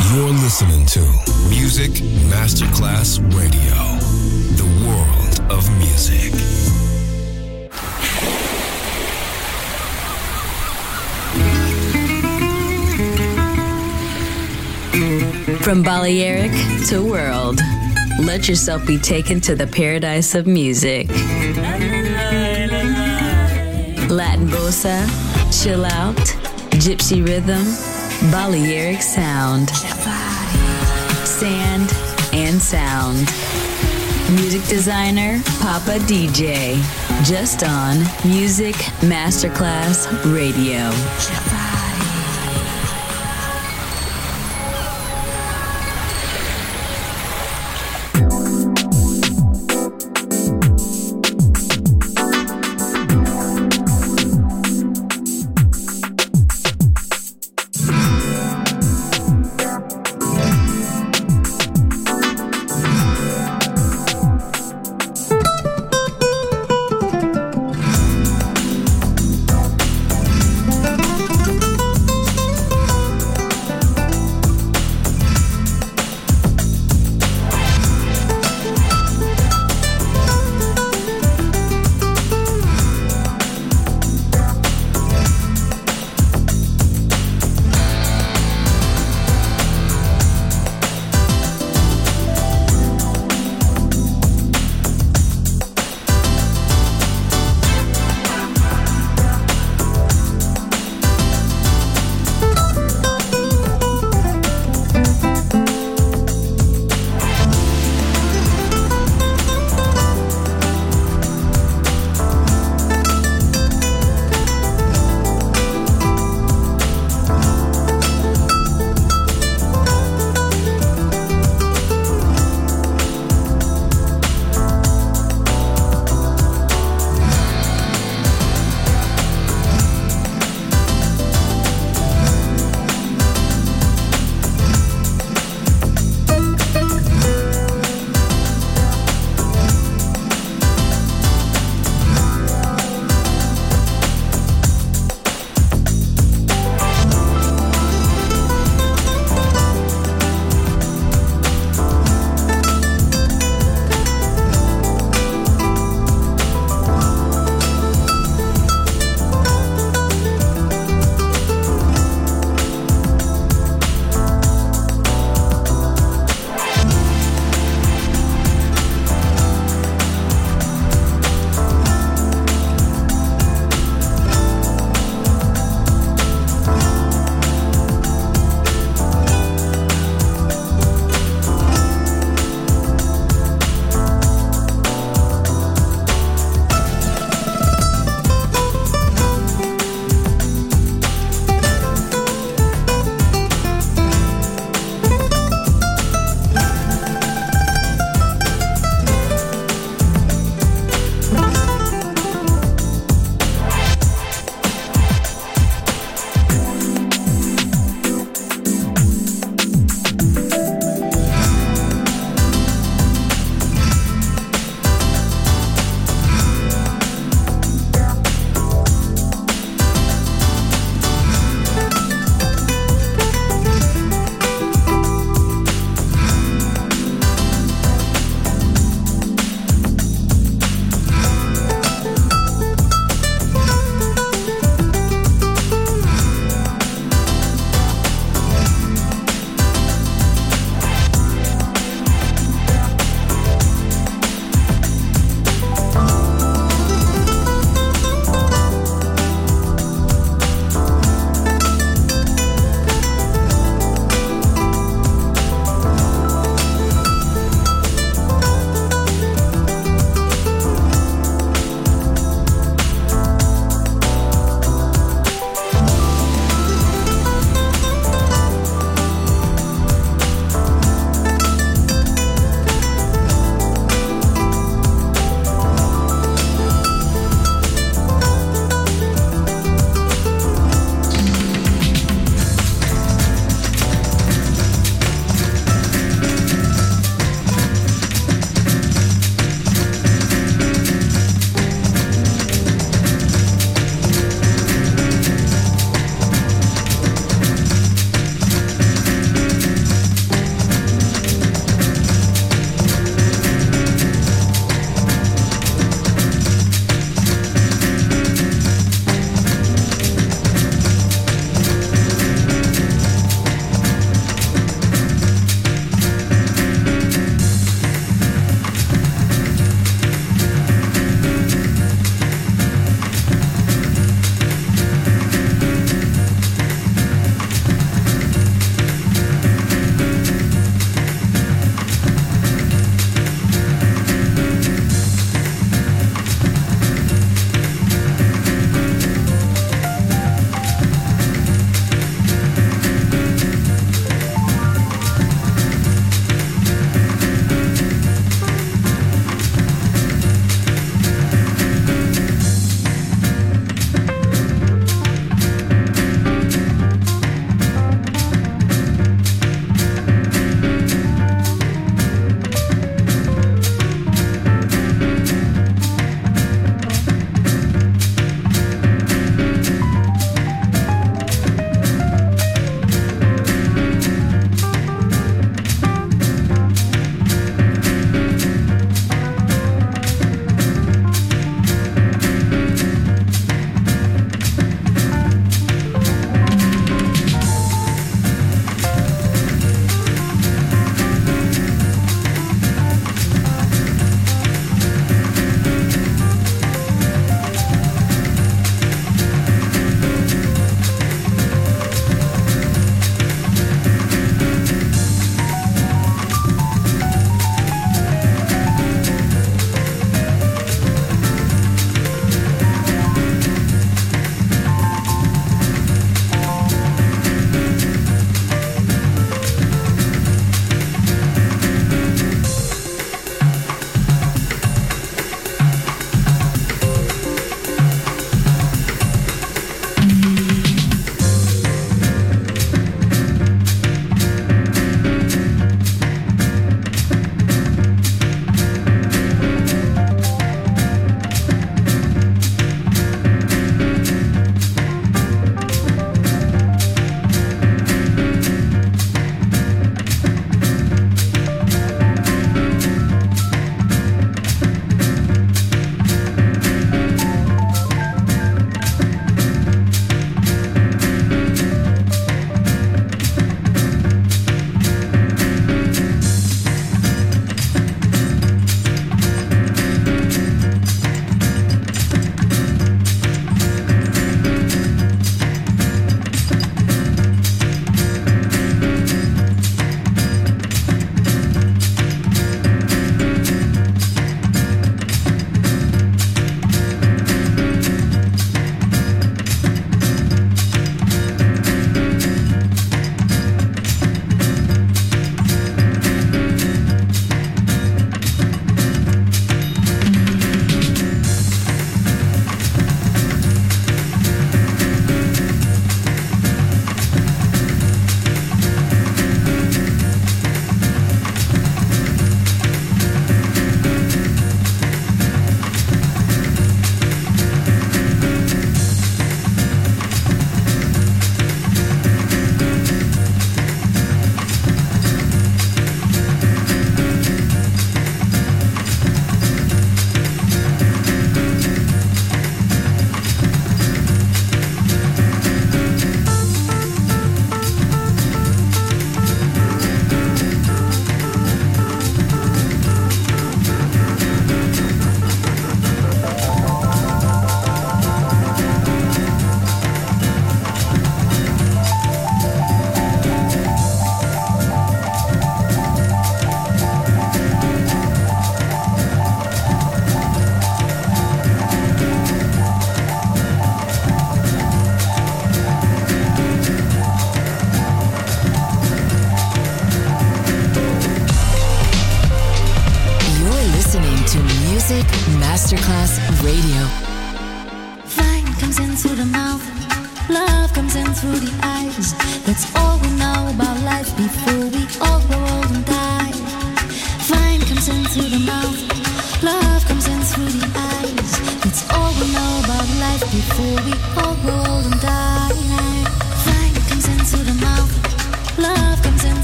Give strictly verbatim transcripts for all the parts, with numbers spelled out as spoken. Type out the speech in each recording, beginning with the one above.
You're listening to Music Masterclass Radio, the world of music. From Balearic to world, let yourself be taken to the paradise of music. Latin bossa, chill out, gypsy rhythm, Balearic sound, sand and sound. Music designer, Papa D J, just on Music Masterclass Radio.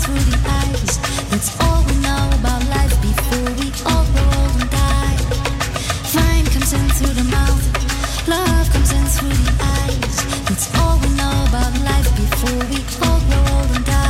through the eyes. That's all we know about life before we all grow old and die. Fire comes in through the mouth, love comes in through the eyes. That's all we know about life before we all grow old and die.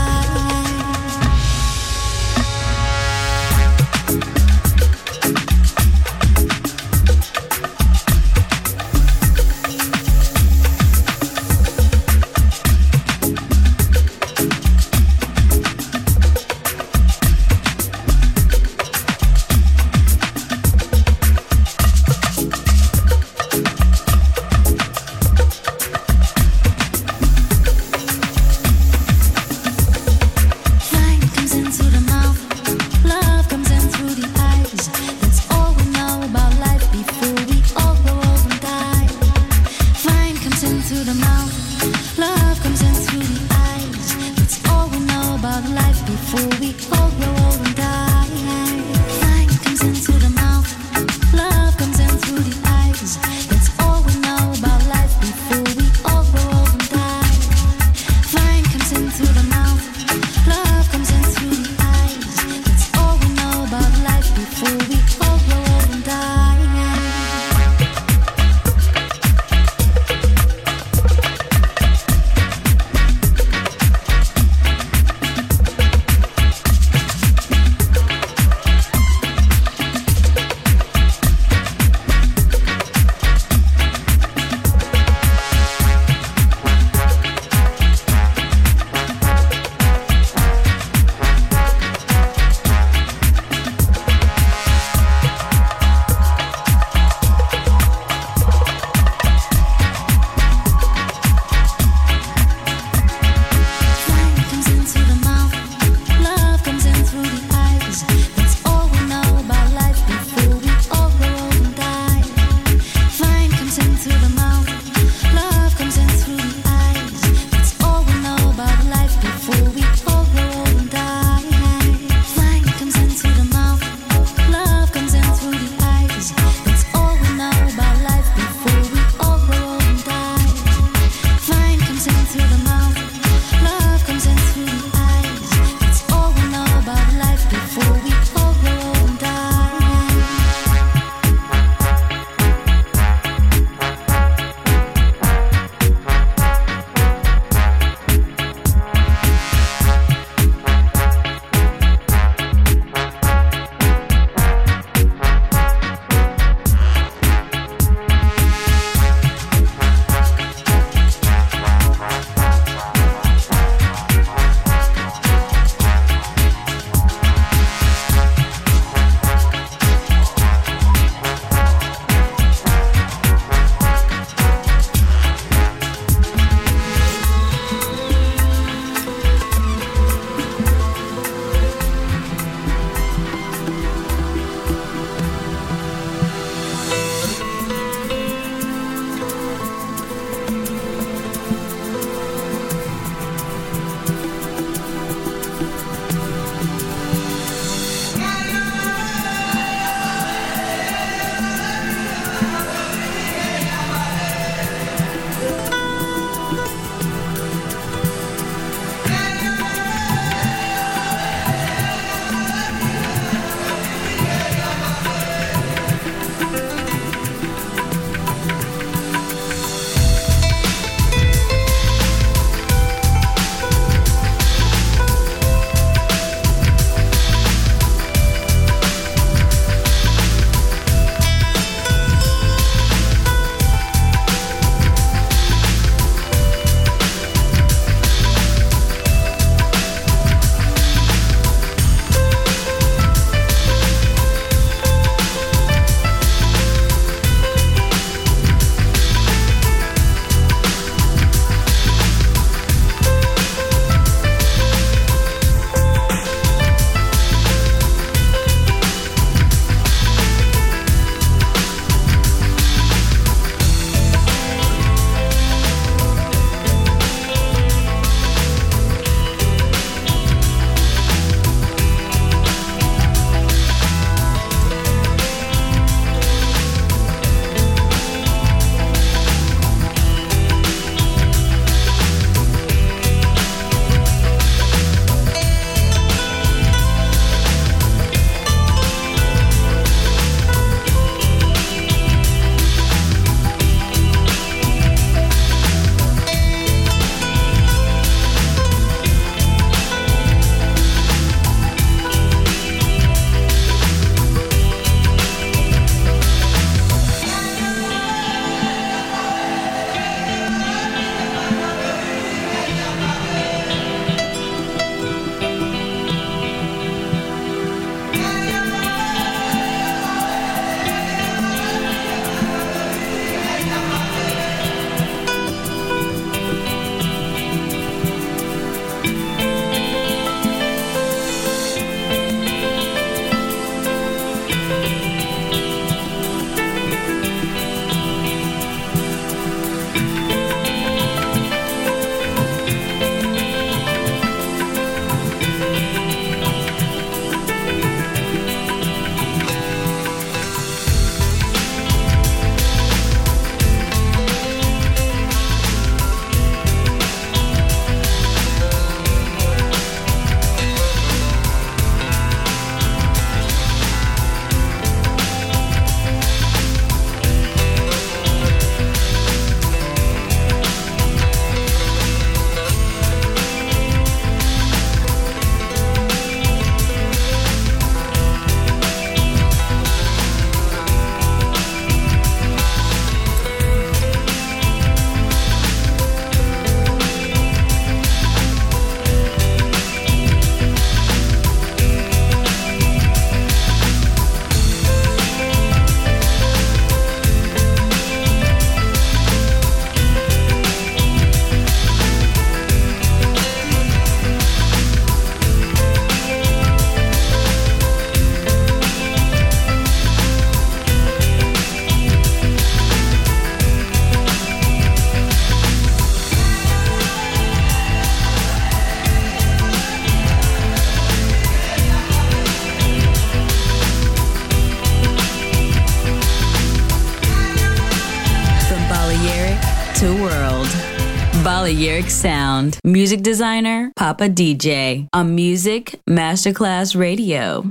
Balearic Sound. Music designer, Papa D J. On Music Masterclass Radio.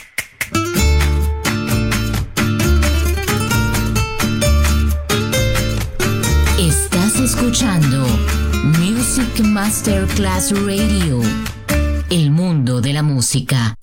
Estás escuchando Music Masterclass Radio. El mundo de la música.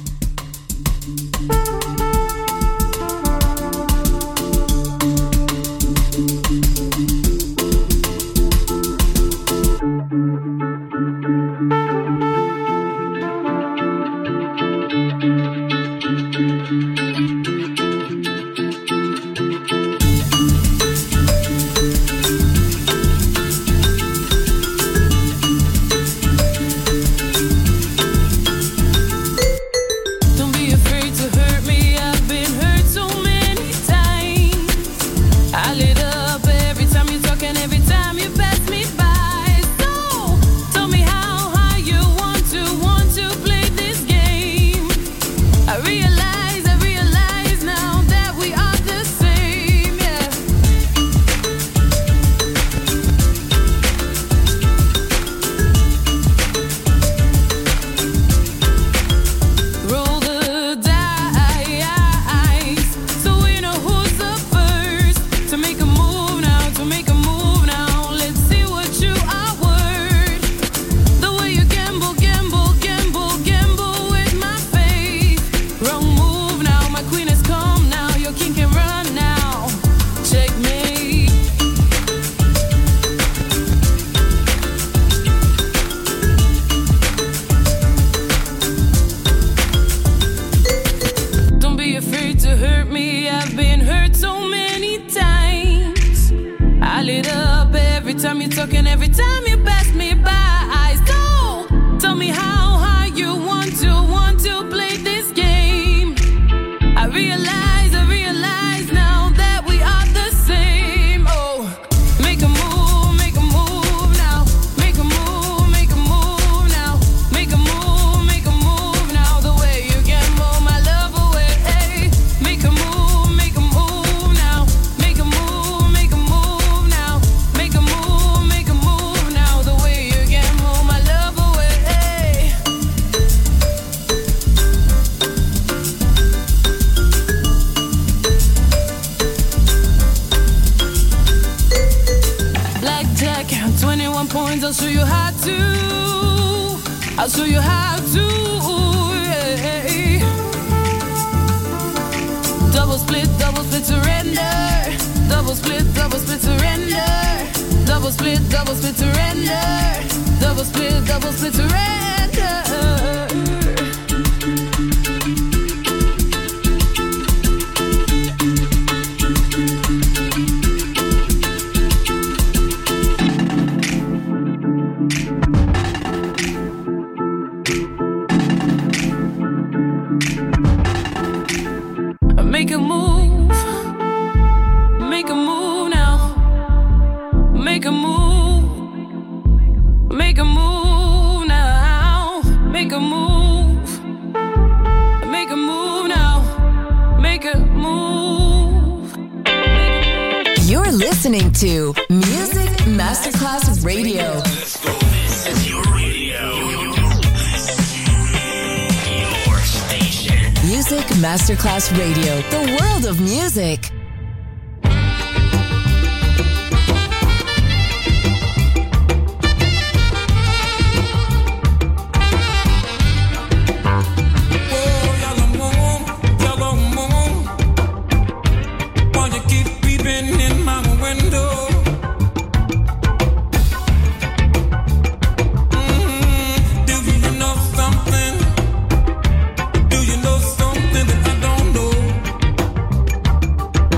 To Music Masterclass Radio. Let's go. This is your radio. Your station. Music Masterclass Radio. The world of music. Do you know something that I don't know?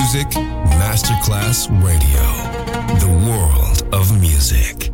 Music Masterclass Radio. The world of music.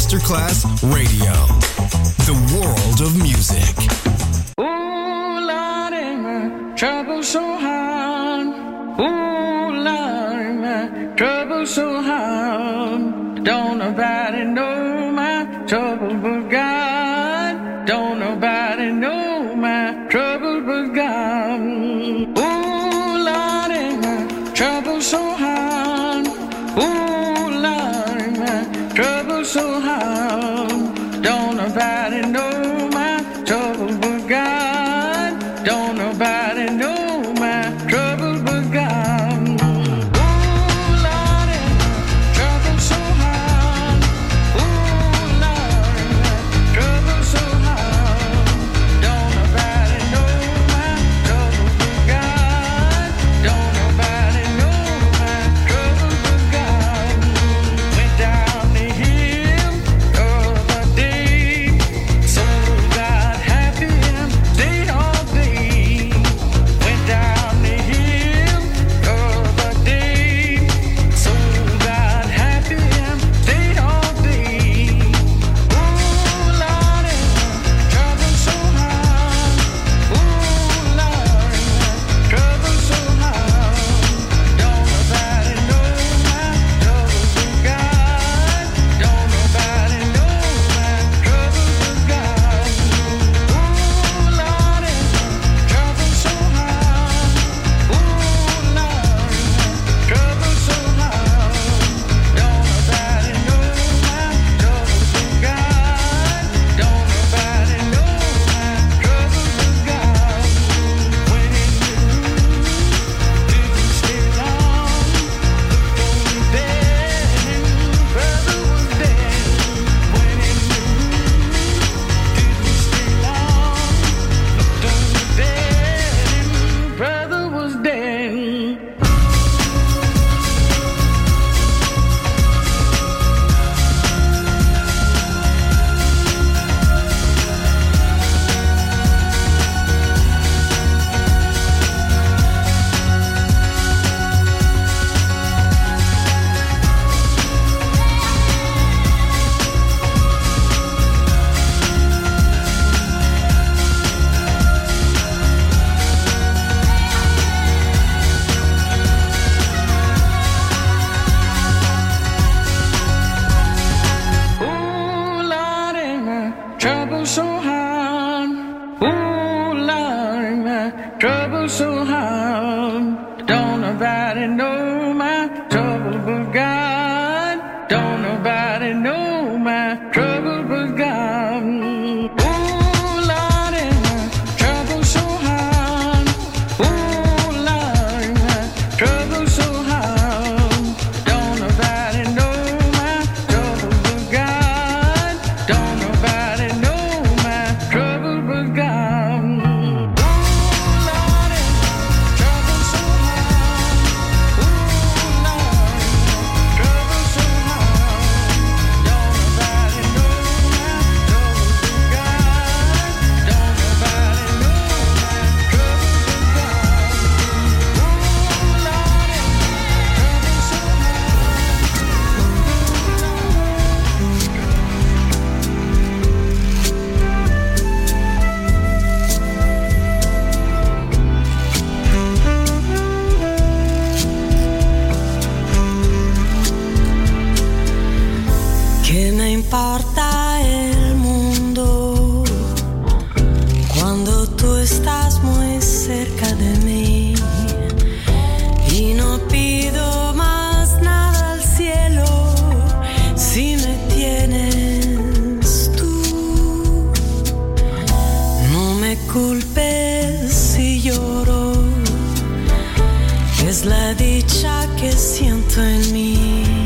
Masterclass Radio, the world of music. Ooh, Lordy, my trouble so hard. Ooh, Lordy, my trouble so hard. Don't nobody know my trouble but God. Don't nobody know my trouble but God. Ooh, Lordy, my trouble so hard. Ooh, Lordy, my trouble so hard. Don't nobody know my trouble but God. Don't nobody know my trouble but God. Ooh, Lordy, my trouble so hard. Ooh, Lordy, my trouble so hard. Don't nobody know my trouble but God. Don't nobody know my trouble but God. Went down the hill the other day, so got happy and stayed all day. Went down the hill the other day, so got happy and stayed all day. Ooh, Lordy, my trouble so hard. Ooh, Lordy, my trouble so hard. Don't nobody know my trouble but God. Don't nobody know my trouble but God. Ooh, Lordy, my trouble so hard. Ooh, Lordy, my trouble so hard. Don't nobody know my trouble but God. Don't nobody know my trouble but God. When in the room, didn't stay long. Looked on the bed and brother was dead. When in the room, didn't stay long. Looked on the bed and brother was dead. Ooh, Lordy, my trouble so hard. Ooh, Lordy, my trouble so hard. Don't nobody know my trouble but God. Don't nobody know my trouble but God. Ooh, Lordy, my trouble so hard. Ooh, Lordy, my trouble so hard. Don't nobody know my trouble but God. Don't nobody know my trouble but God. Ooh, Lordy, my trouble so hard. Ooh, Lordy, my trouble so hard. Don't nobody know my trouble but God. Don't nobody know my trouble but God. Ooh, Lordy, my trouble so ¿Qué me importa el mundo cuando tú estás muy cerca de mí? Y no pido más nada al cielo si me tienes tú. No me culpes si lloro, es la dicha que siento en mí.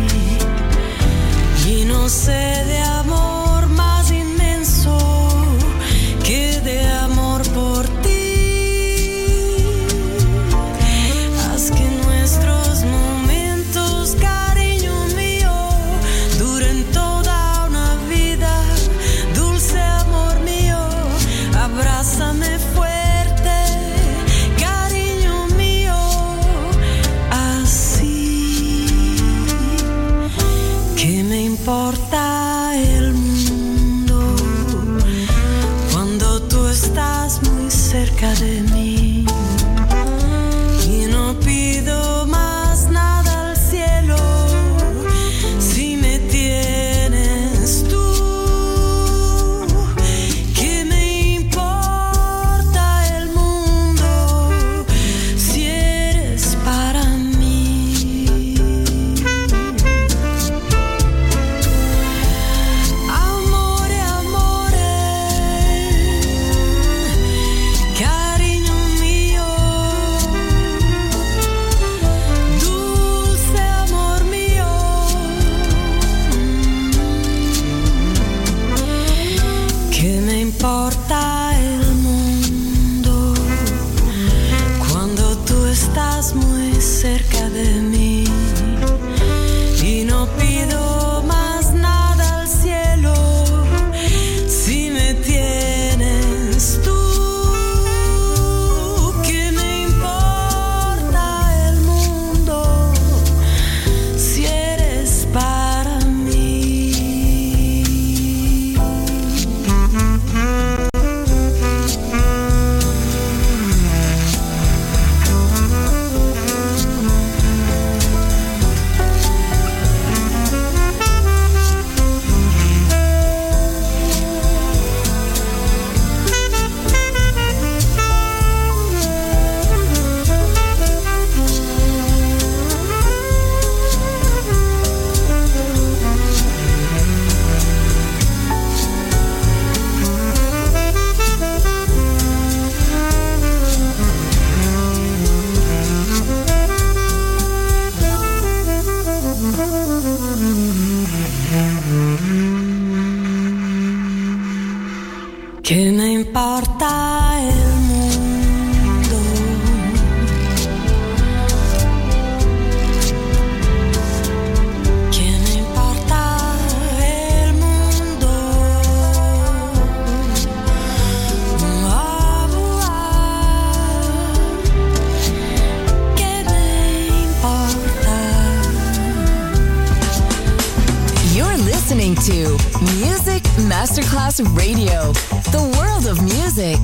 Y no sé de amor más inmenso que de amor por ti. Haz que nuestros momentos, cariño mío, duren toda una vida. Dulce amor mío, abrázame fuerte, cariño mío, así. ¿Qué me importa el cerca de mí y no pido más nada al cielo si me tienes tú. ¿Qué me importa el mundo si eres para mí? Amore, amore, cariño mío, dulce amor mío. ¿Qué me importa el mundo cuando tú estás muy cerca de mí y no pido más nada al cielo si me tienes tú? ¿Qué me importa el mundo si eres para mí? ¿Qué me importa el mundo? ¿Qué me importa el mundo? Ah, ah, ¿qué me importa? You're listening to Music Masterclass Radio, the world of music.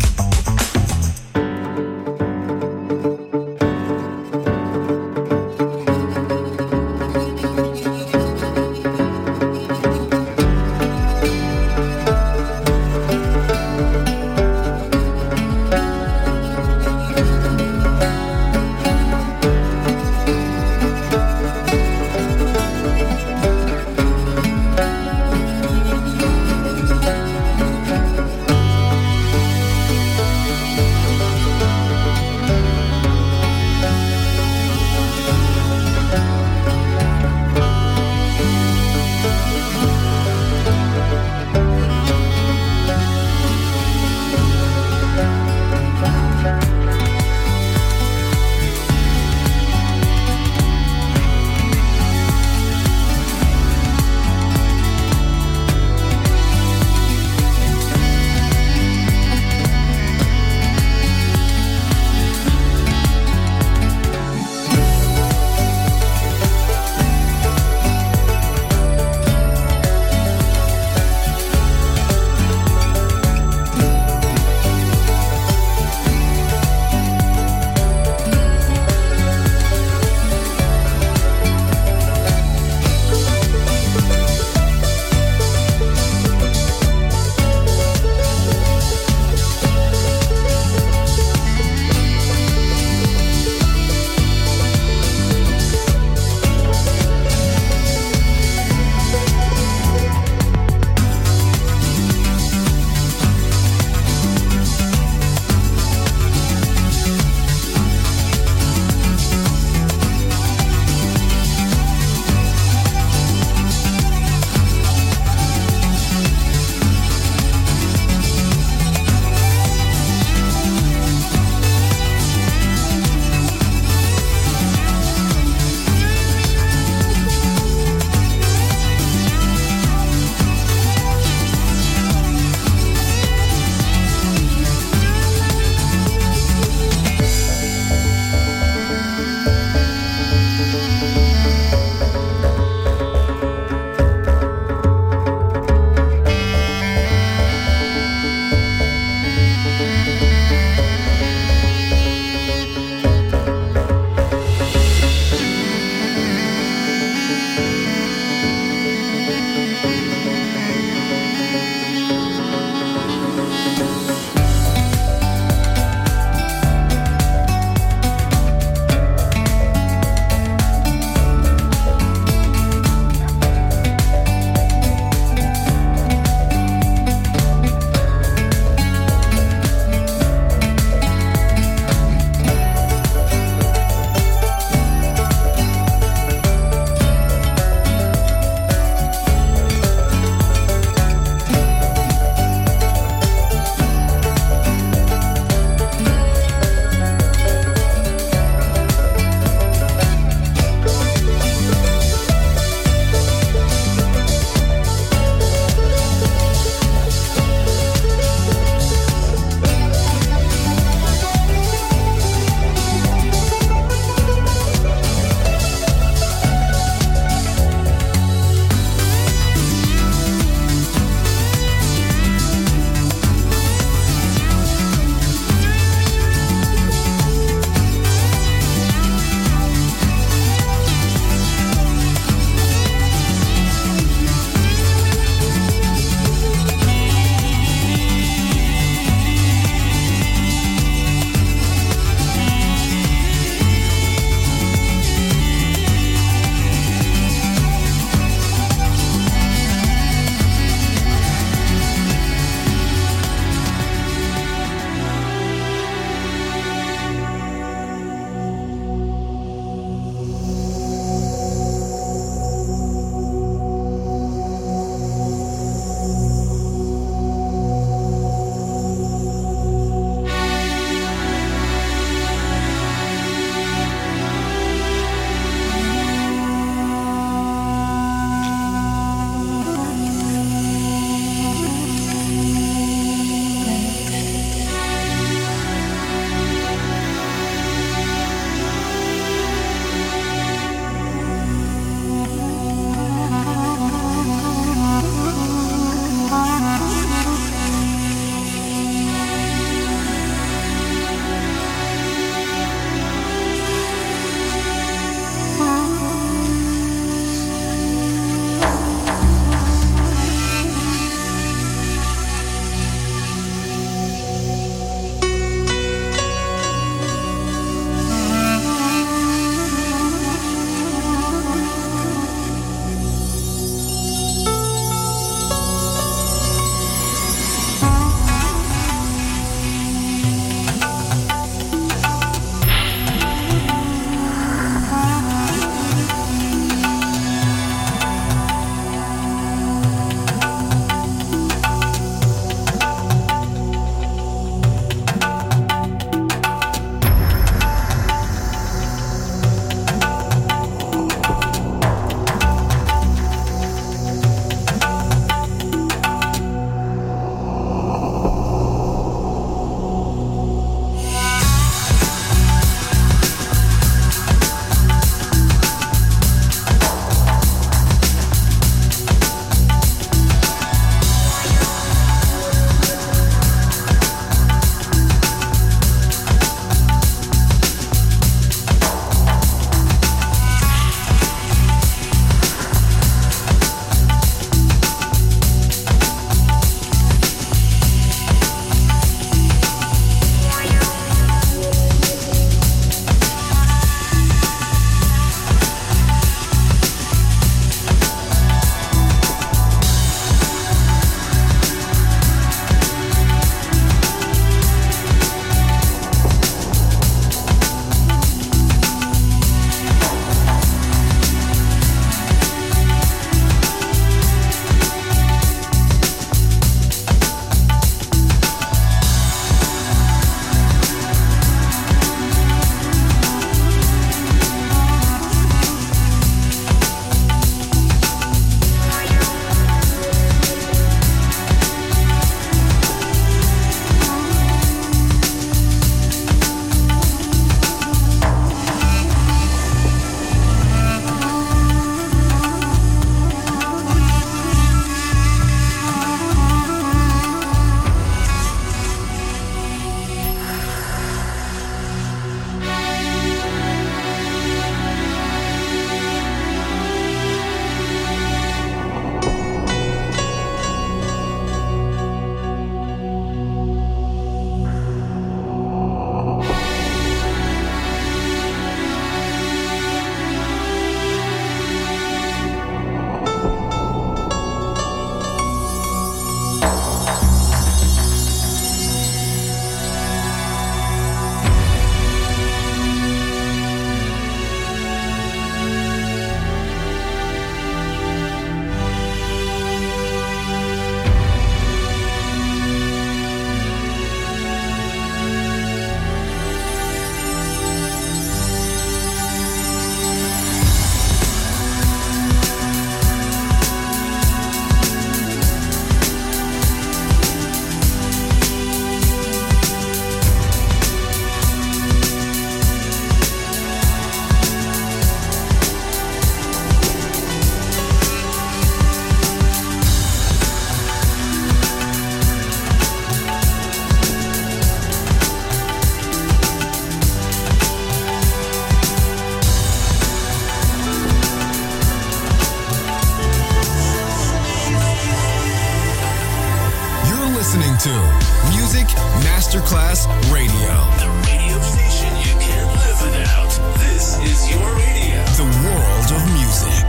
to Music Masterclass Radio. The radio station you can't live without. This is your radio. The world of music.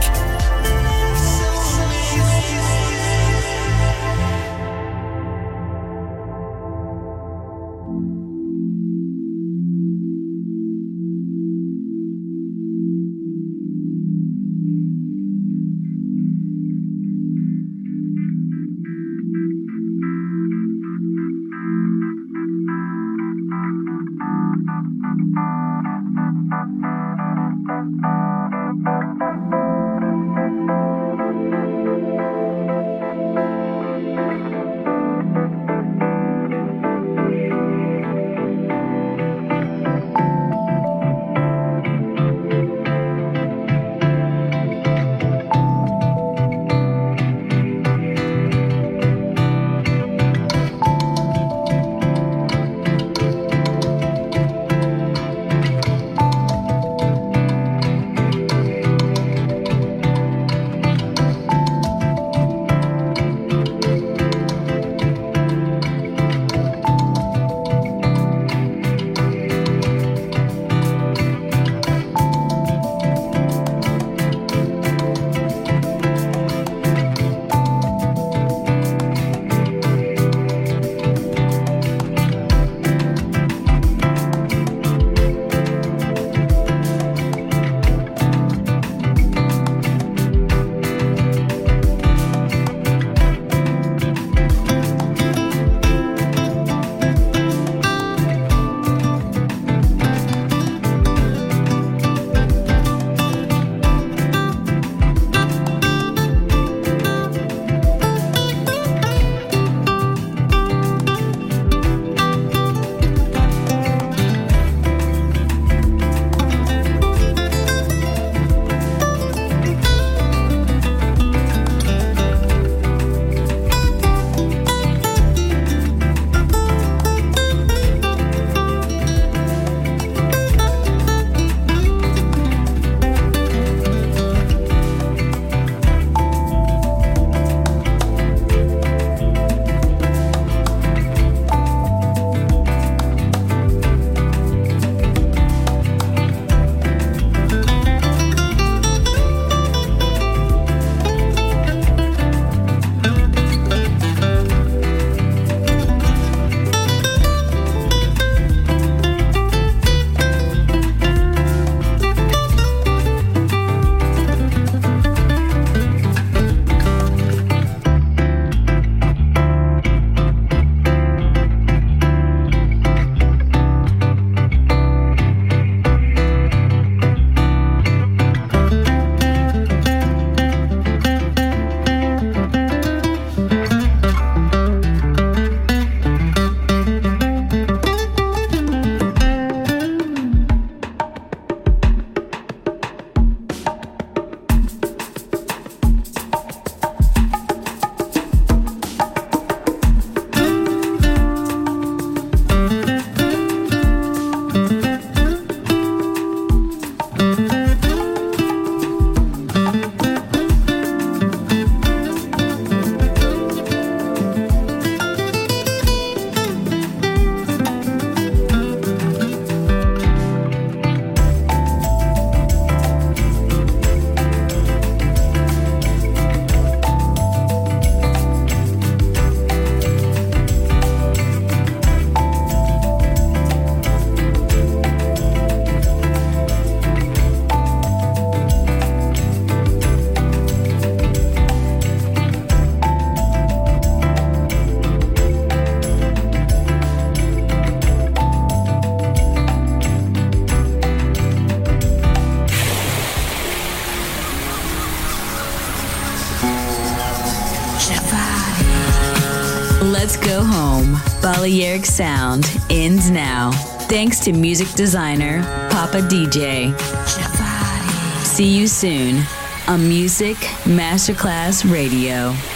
Let's go home. Balearic Sound ends now. Thanks to music designer Papa D J. See you soon on Music Masterclass Radio.